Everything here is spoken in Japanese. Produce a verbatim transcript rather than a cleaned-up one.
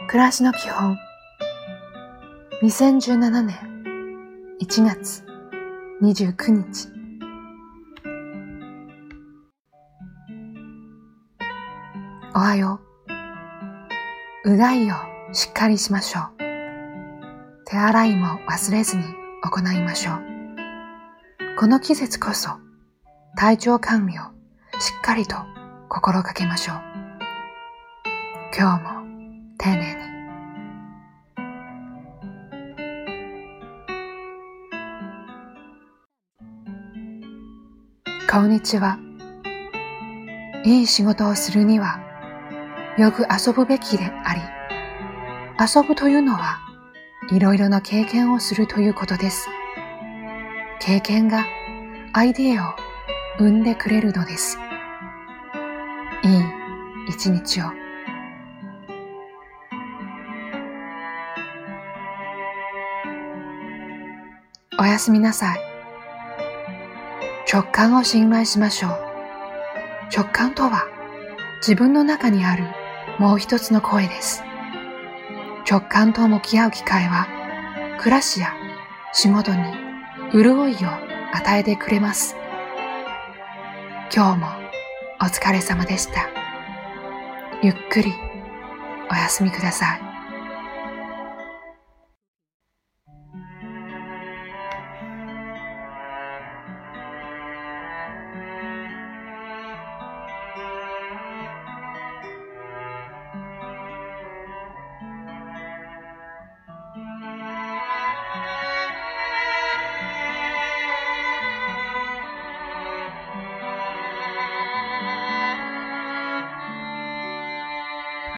暮らしの基本にせんじゅうななねんいちがつにじゅうくにち。おはよう。うがいをしっかりしましょう。手洗いも忘れずに行いましょう。この季節こそ体調管理をしっかりと心がけましょう。今日も丁寧に。こんにちは。いい仕事をするにはよく遊ぶべきであり、遊ぶというのはいろいろな経験をするということです。経験がアイデアを生んでくれるのです。いい一日を。おやすみなさい。直感を信頼しましょう。直感とは自分の中にあるもう一つの声です。直感と向き合う機会は暮らしや仕事に潤いを与えてくれます。今日もお疲れ様でした。ゆっくりお休みください。